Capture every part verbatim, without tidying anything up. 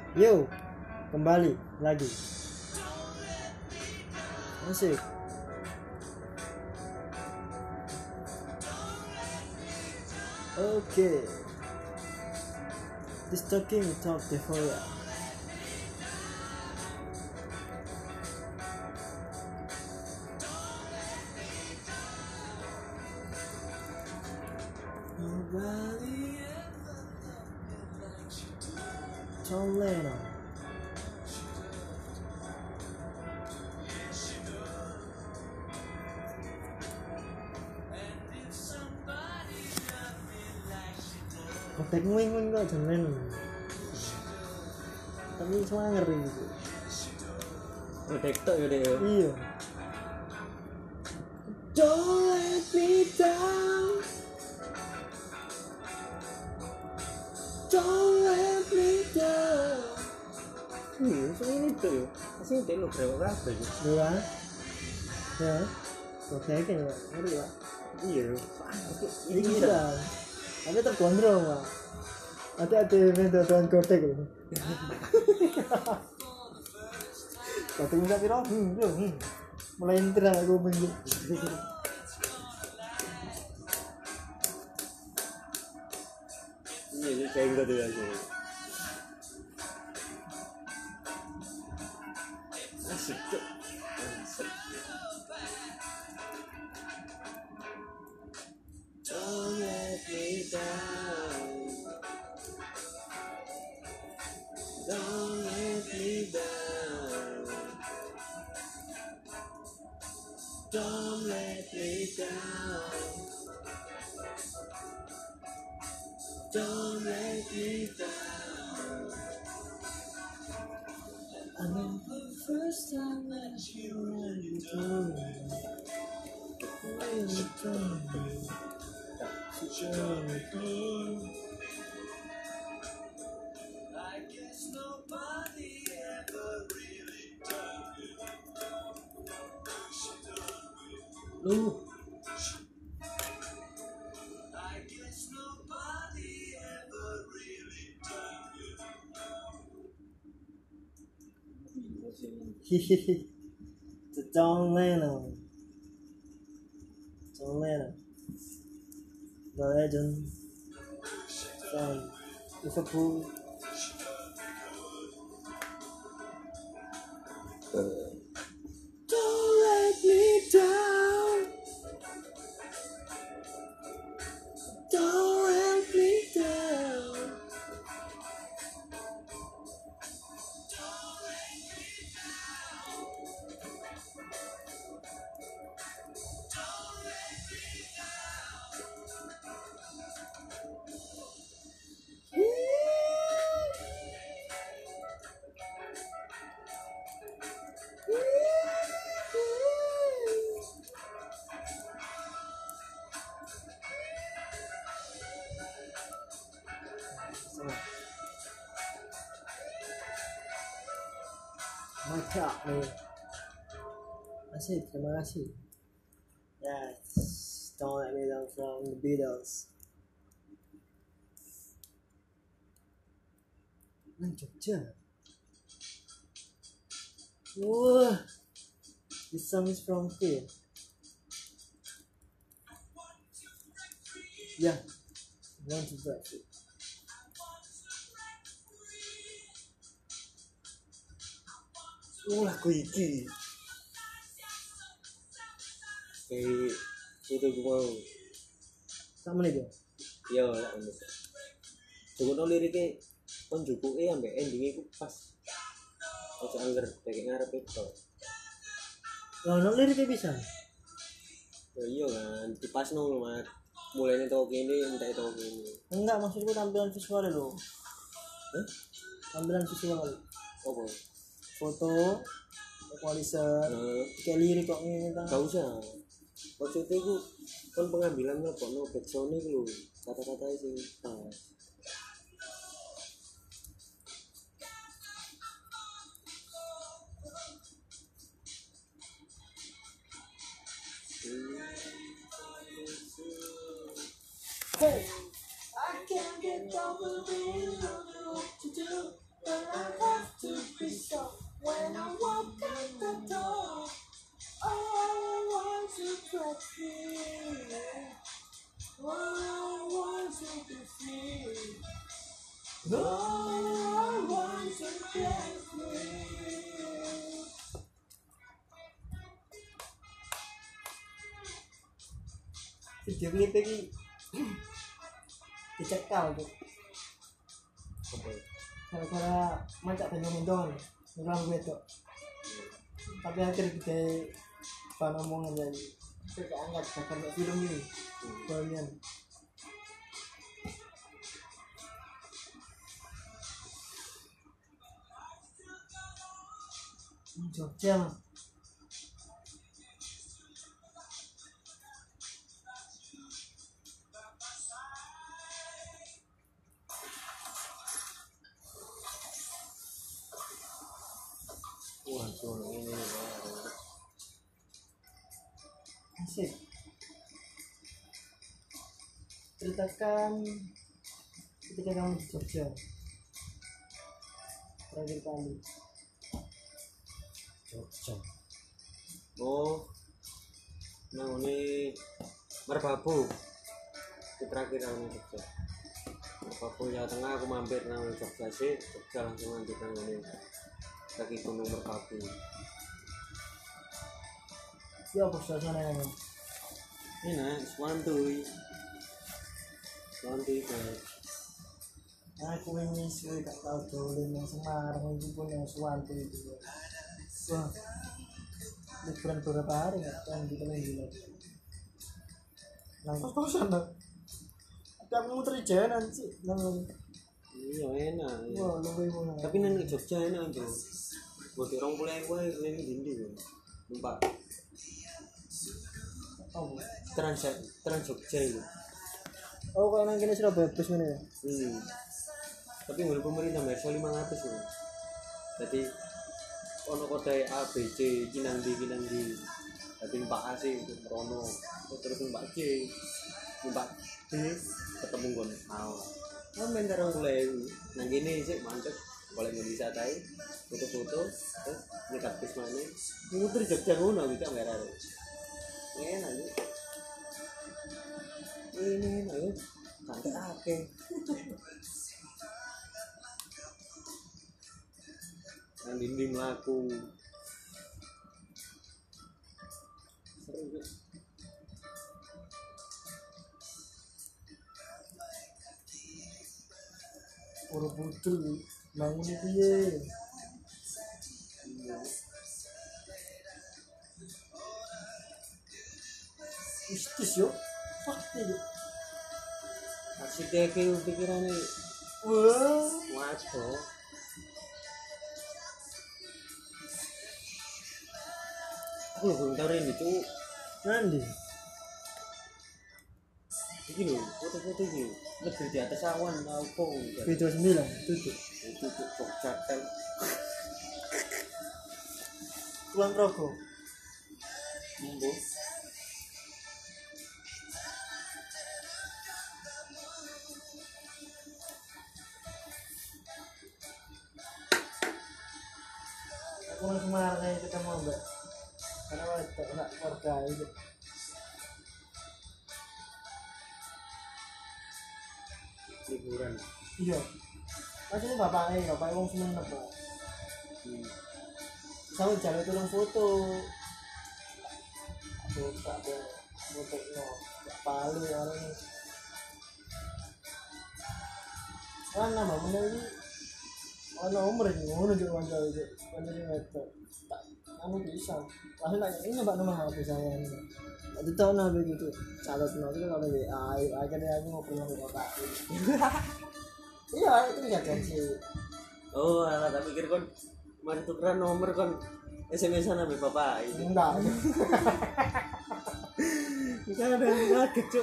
Yo, kembali lagi. Asik. Oke. This talking talk before ya. Nobody John Lennon. Kotek wing-wing kok John Lennon. Tapi semua ngeri gitu. Kotek tok ya deh. Iya. Don't let me down. Don't let me down. Hmm, so ini tuh yo. Asli telo berapa berapa sih? Dua. Ya. Kotek kan ya. Ngeri Pak. Iya. Ini kita. Tapi tergondrong Pak. Hati-hati mendodoan kotek ini. Kotek minta piro? Hmm, hmm. Mulai entar aku benjuk. Iya, ini kayak gitu ya sih. Asik tuh. Asik. Don't let me down. Don't let me down. Don't let me down. Don't let me down. I remember the first time that you when you told me when you told me to join me. I guess nobody ever really done it. Lu I guess nobody ever really done it. Hihihi. It's John Lennon. John Lennon. The legend from Liverpool. Don't let me down. Don't let me down. Mantap nih. Masih, terima kasih. Yes, Don't Let Me Down from the Beatles. Nang Jogja. Wah, this song is from Queen. Yeah, want to break it. Oh lagu iki. Eh, itu gue mau. Sama nih dia. Iya lah ini. Coba no liriknya kon jupuke ambek endinge iku pas. Ojo angger dek ngarep itu. Lah nang liriknya bisa. Ya iya kan, dipasno lho, Mas. Mulainya tau kene, entek tau kene. Enggak, maksudku tampilan visual lo. Hah? Tampilan visual. Apa? Foto, equalizer, Nah, kayak lirik kok ini kan. gak usah. Maksudnya itu kan pengambilan apa no backsound itu kata-kata sing pas. Hey, I can't get over the feeling of what to do, but I Video klip iki dicekal tuh. Gara-gara mancak dendong-dendong ngelang wedok. Tapi akhirnya kita bahan omongan jadi kita angkat karena film ini bagian Jogja mah. Waduh, ini Asik. Ceritakan ketika kamu di Jogja terakhir kali. Jogja. Oh, nah ini Merbabu. Terakhir aku di Jogja. Merbabu Jawa Tengah aku mampir nang Jogja sih, Jogja langsung lanjut nang ini. Kaki Gunung Merbabu. Ya apa suasananya? Enak, santuy. Santuy guys. Aku ini sih gak tau dolen yang Semarang itu pun yang suwanto itu. Wah, liburan beberapa hari gak tahu di kalian gila. Nang kos-kosan lah. Tapi aku muter di jalan sih. Nang Iya enak. Iya. wah lebih mana. Tapi nang Jogja enak tuh. Buat orang mulai gue ini dindi tuh. Numpak Oh, Trans Trans Jogja itu. oh kalau nang kene Surabaya bus mana ya? Hmm. Tapi menurut pemerintah bayar lima ratus ya. Jadi ono kode A B C kinang di kinang di. Tapi numpak A sih untuk Rono. Terus numpak C, numpak D ketemu gon mau. Nah, main karo mulai nang gini sih mantep. Boleh bisa tahu foto-foto terus nyekat bis mana. Muter Jogja ngono bisa merah. Enak nih. Ini enak ya. Santai ake. Nang dinding laku. Seru ya. Orang putri bangun itu ya. Istis yo, pasti yo. Arsitek itu pikirannya Wah, waduh. Aku belum tahu ini tuh. nanti. Ini loh, foto-foto ini lebih di atas awan apa B dua sembilan tutup. itu tuh kok catel. Kulon Progo. Embuh. Aku mau Semarang aja kita mau enggak? Karena waktu enggak keluarga itu. Liburan. Iya. Masih bapaknya, bapaknya wong Sumenep Pak. Hmm. Saya jalan turun foto. Aku tak ada foto no, palu orang ini. Kan nama mana ini? Ono umur ini, ngono juga wajar itu, wajar itu. Tak, kamu bisa. Langsung tanya ini mbak nomor H P saya ini. Itu tahu nabi gitu, catat nanti kalau W A, akhirnya aku ngobrol sama bapak. Iya, itu nggak sih. Oh, alah tak pikir kon mari tukeran nomor kon S M S-an sama bapak ini. Enggak. Bukan ada yang kaget, Cuk.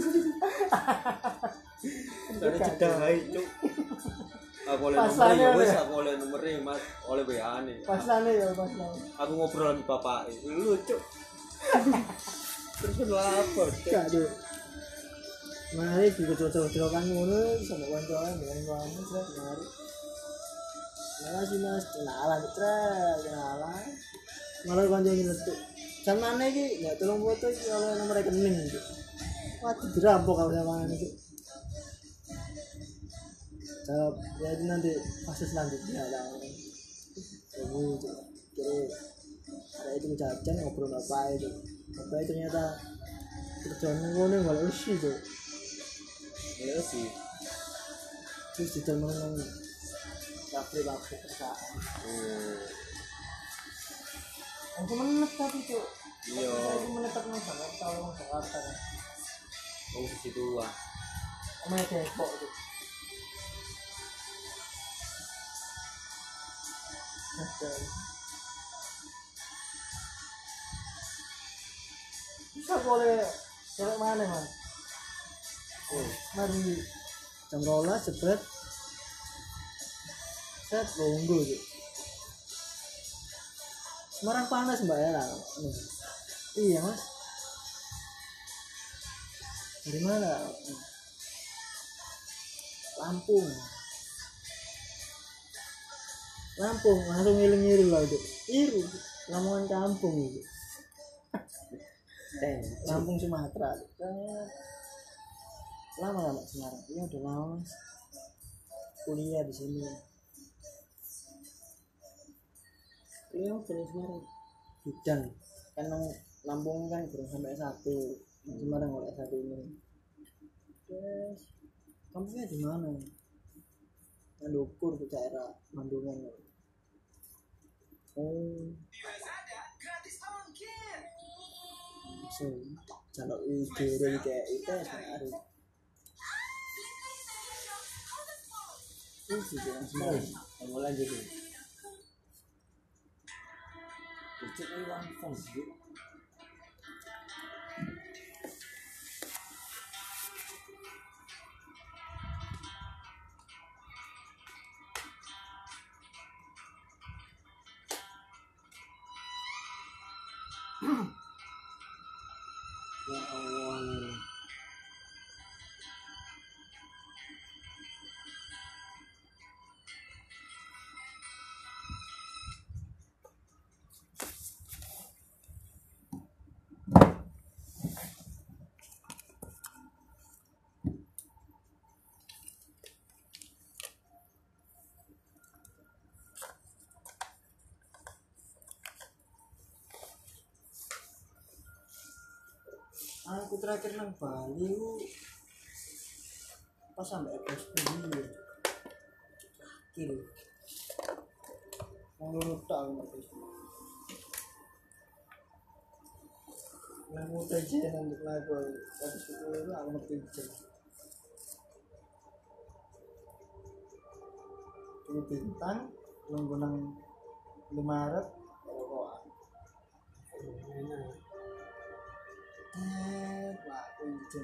Dari cedai, Cuk. Aku oleh nomor ya wis, aku oleh nomornya Mas, oleh W A nih. Paslane ya, paslane. Aku ngobrol sama bapak itu lucu. Terus lapor, Cuk. Aduh. Mari kita coba-coba kan ngono sama kawan-kawan dengan kawan Mas, mari. Terima kasih Mas, kenalan, kenalan. Malah kanjeng ngetuk. Jam mana iki? Ya tolong foto iki kalau nomor rekening iki. Waduh dirampok kalau sama ini. Jawab ya itu nanti fase selanjutnya lah. Kamu itu kira ada itu jajan ngobrol apa itu. Apa itu ternyata kerjaan ngono enggak usi tuh. Ya sih. Terus kita menang kafe-kafe perusahaan. Hmm. Aku menetap tapi tuh. Iya. Aku menetap nang Jakarta, nang Jakarta. Oh situ ah. Omah Depok tuh. Betul. Bisa boleh cewek mana mas? Oh. Mari jam rola jebret set longgo gitu. Semarang panas mbak ya lah. Iya mas. Dari mana? Lampung. Lampung langsung ngiling-ngiling lah itu. Iru. Lamongan kampung itu. Lampung Sumatera. Lama lama Semarang. Iya udah lama mas. Kuliah di sini. Kuliah apa di Semarang? Bidang. Kan Lampung kan belum sampai S satu. Semarang oleh S satu ini. Terus kampungnya di mana? Mandukur ke daerah Mandungan. Oh. So, kalau ide dari kayak itu sehari. Itu sih yang semua. Kamu lanjut nih. Cek ini langsung sih. Ya Allah. Aku terakhir nang Bali ku pas sampai F P I kiri mau lurus tak aku ngerti yang mau tajian untuk lagu habis itu aku ngerti aja ini bintang nunggu nang lima Maret rokokan eh laku itu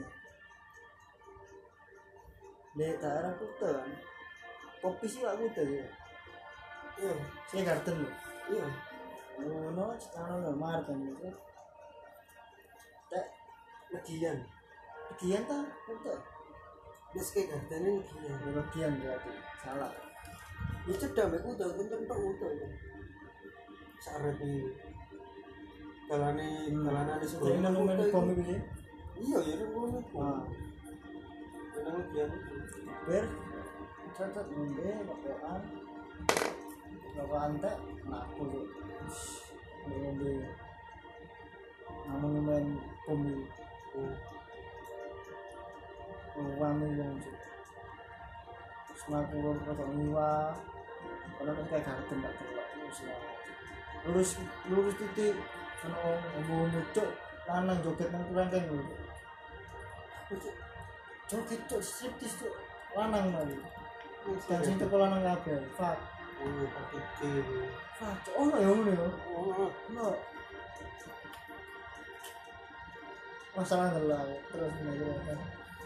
di daerah Kuta kan kopi sih gak Kuta ya iya saya garden loh iya ngono sekarang udah Maret kan gitu tak legian legian tak Kuta terus kayak gardennya legian legian berarti salah ya cedah mbak Kuta kan tak Kuta itu saret ini dalane dalane sekolah ini namanya komi ini iya ya kan komi nah nang legian ber cacat ngombe rokokan rokokan teh aku tuh ngombe namanya main komi uang yang semakin lurus ke Niwa kalau kan kayak garden gak terlalu lurus lurus titik kan om muncul lanang joget nang kurangkan lho joget cok striptis cok lanang lagi dan sing teko lanang kabeh fak oh pakai fak cok ono ya ngono ya ono masalah ndelok terus ngene kan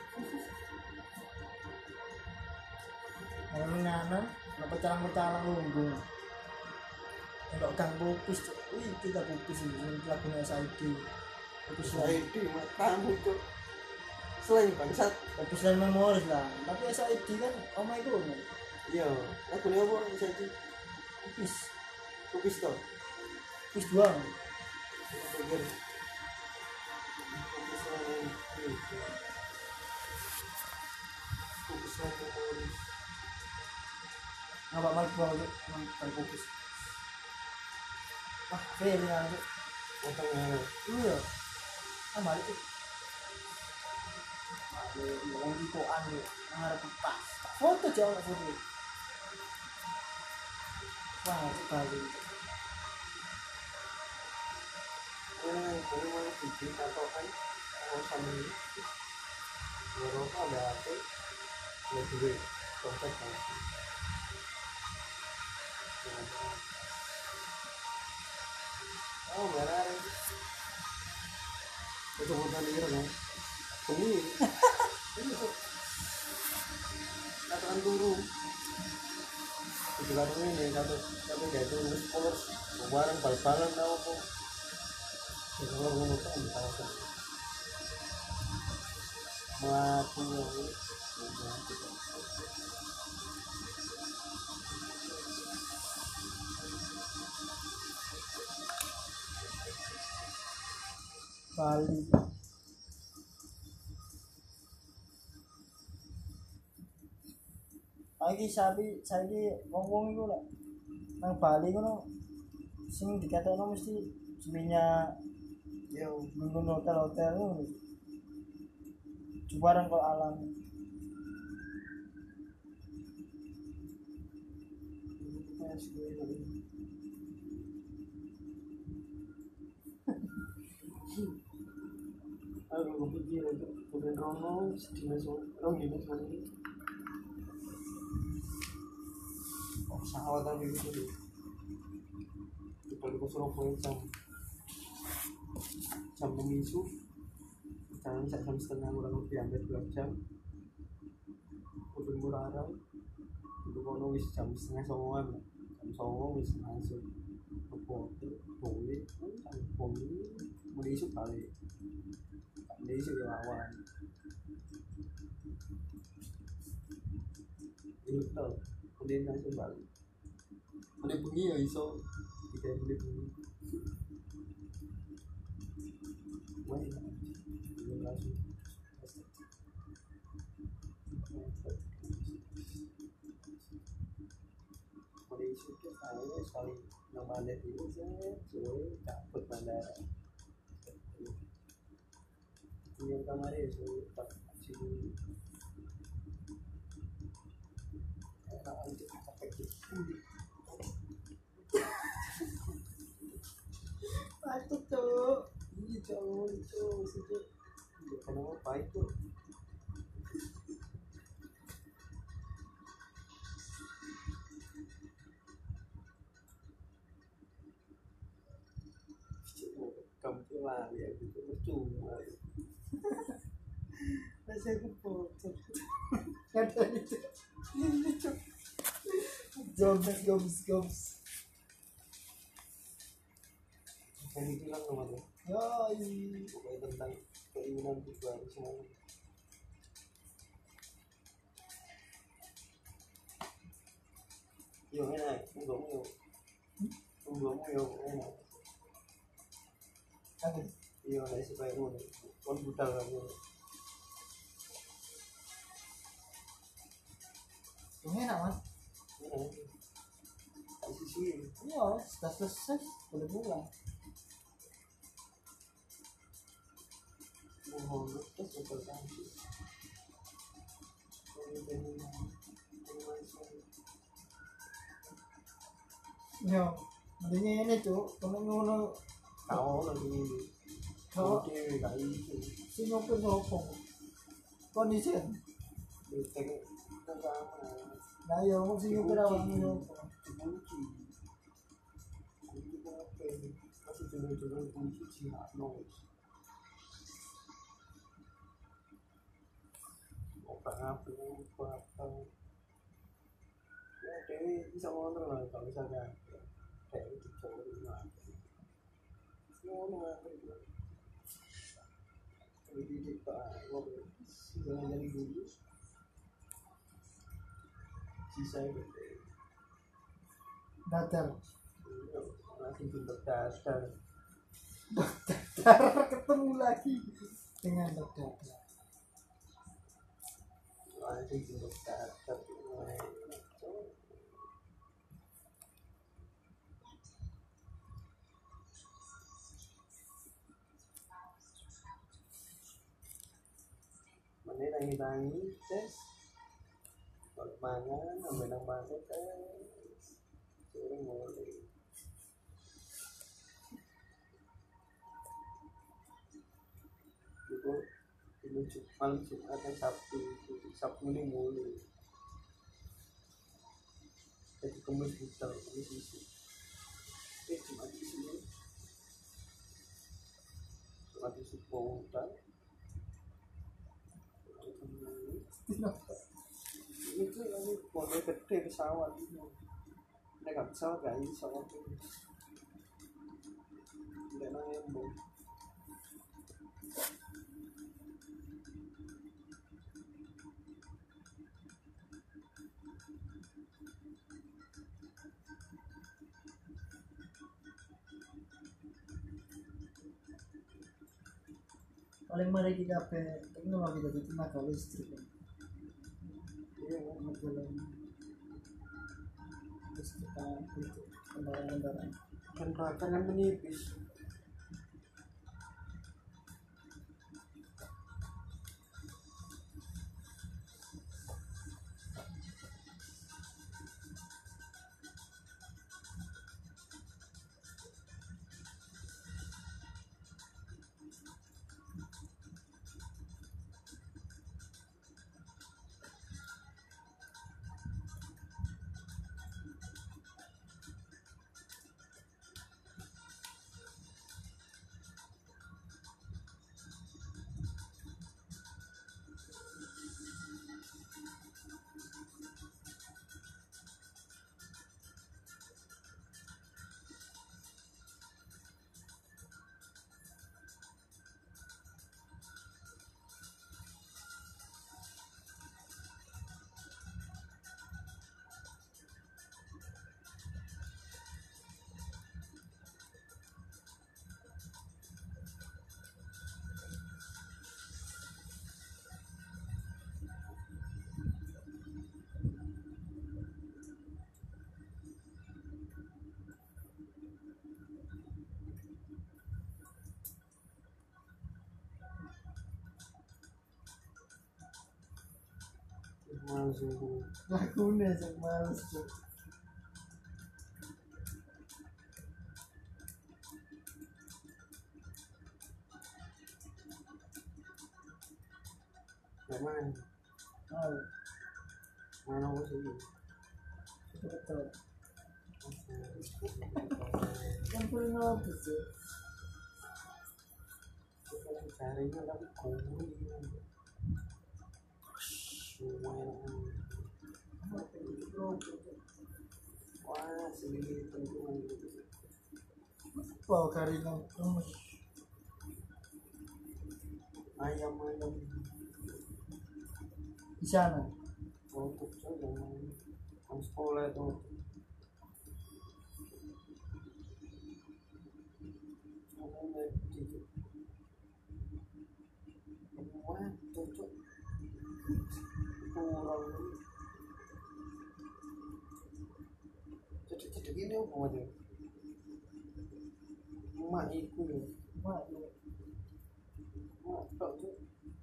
ana ngana apa calang-calang lungguh enggak gang pupis cok wih kita pupis ini lagunya S I D pupis S I D kamu cok selain bangsat pupis dan memoris lah tapi S I D kan oh my god iya lagunya apa S I D pupis pupis toh pupis doang pikir fokus sama itu fokus sama memoris Ngapa malah gua aja nonton fokus. Ah, fail ya. makanya Iya. Ah, balik tuh. Ada yang di koan nih, ngarep pas. Foto jauh foto. Wah, sekali. eh ini mau bikin atau kan mau sama ini Eropa ada apa ada duit dompet kan oh merah itu bukan dia kan ini ini tuh katakan turun itu kartu ini satu satu dia itu sekolah barang bal-balan tau kok itu kalau ngomong kan tahu kan melaku yang Bali. Lagi sabi saiki wong-wong iku lek nang Bali ngono sing dikatekno mesti sebenarnya ya minggu hotel-hotel ngono. Jubaran kok alam. aku pikir untuk kemudian Rono sedina Rono ini sorry oh pesawat tapi itu deh di balik ke Surabaya jam jam pemisu jangan bisa jam setengah kurang lebih hampir dua jam udah murah itu Rono wis jam setengah songoan jam songo wis langsung ke hotel boleh kan boleh menisuk balik ini sih lawan itu tau kemudian langsung balik kemudian bengi ya iso tidak boleh bengi wah ini langsung kemudian iso ke saya sekali nama ada ini saya suruh cabut bandara yang kemarin itu tak sini enak untuk pakai gitu itu tuh ini cowok itu situ kenapa baik tuh kamu lah ya gitu percuma Saya foto. Ada itu. Jobs, jobs, jobs. yang bilang sama tuh Yoi. pokoknya tentang keinginan tujuan semuanya yo enak enggakmu yo enggakmu yo enak Ada. iya lah supaya ngono kon budal kan Ini enak mas. tak sisi Iya, sudah selesai. Boleh pulang. mohon terus betul cantik Yo, mendingnya ini tuh, kalau ngono kau lagi ini kalau oke gak itu si ngopi ngopong kondisi. betek pertama Nah, yo mau si ngopi rawang ngopong. kunci kunci apa masih dulu-dulu kunci sih noise otak apa apa ya dewi bisa ngontrol lah kalau misalnya kayak itu cowok itu lah ngono lah jadi kita ngobrol jangan jadi dulu sisa itu Datar. langsung pintar dasar ketemu lagi dengan dokter. Ada di dokter tapi mana lagi tangi tes kalau mangan ambil nang masuk tes sering mulai itu ini cuma Jumat dan Sabtu Sabtu ini mulai jadi kemis bisa kemis bisa eh Jumat di sini Jumat di Supomutan itu ini model gede pesawat itu mereka pesawat gak ini pesawat itu tidak nangembung paling mari kita pe teknologi dari tenaga listrik iya jalan listrik itu kendaraan-kendaraan kan rata kan menipis masuk lagunya cek males cek memang mau mana sih itu betul kan paling ngapus sih carinya tapi kurang semuanya wah sendiri tentu wow karina gemes ayam ayam di sana untuk saja kan sekolah itu namanya gitu wah cocok kurang jadi jadi ini apa aja mak iku ya mak ya mak tak tuh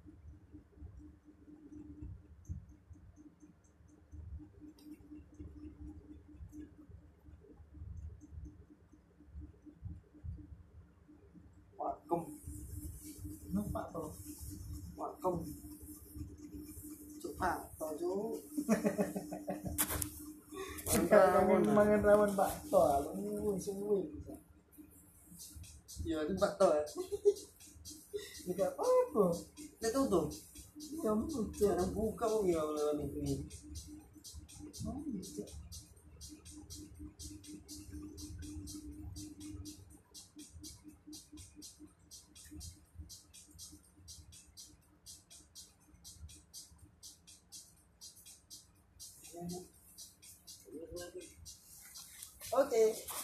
wakem nampak tuh wakem cepat tuh mangan mangan rawan bakso lu semua bisa ya itu bakto ya tidak apa-apa itu tuh ya muncul cara buka mau ya lewat ini oh bisa oke